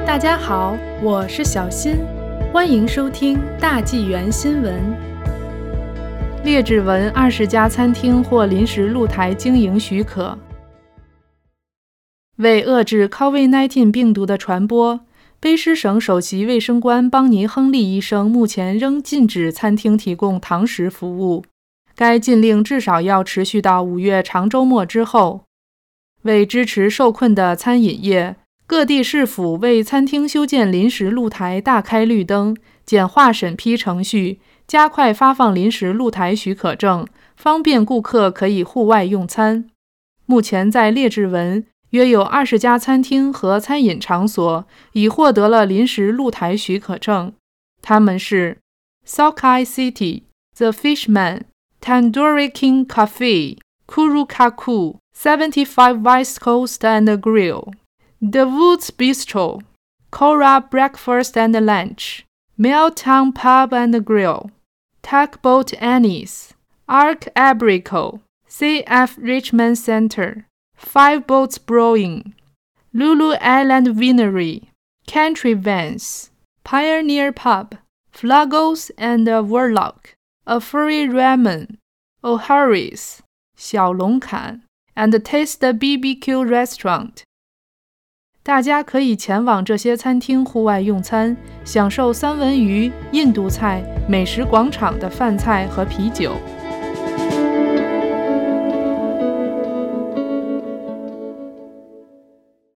大家好，我是小新，欢迎收听大纪元新闻。列治文20家餐厅获临时露台经营许可。为遏制 COVID-19 病毒的传播，卑诗省首席卫生官邦尼·亨利医生目前仍禁止餐厅提供堂食服务，该禁令至少要持续到5月长周末之后。为支持受困的餐饮业，各地市府为餐厅修建临时露台大开绿灯，简化审批程序，加快发放临时露台许可证，方便顾客可以户外用餐。目前在列治文，约有20家餐厅和餐饮场所已获得了临时露台许可证，他们是 Sockeye City、The Fishman、Tandoori King Cafe、Kurukaku、75 West Coast and Grill、The Woods Bistro、Cora Breakfast and Lunch、Milltown Pub and Grill、Tugboat Annie's、Ark Abrico、CF Richmond Center、Five Boats Brewing、Lulu Island Winery、Country Vans、Pioneer Pub、Flagos and Warlock、A Furry Ramen、O'Harry's、小龙坎 and Taste BBQ Restaurant。大家可以前往这些餐厅户外用餐，享受三文鱼、印度菜、美食广场的饭菜和啤酒。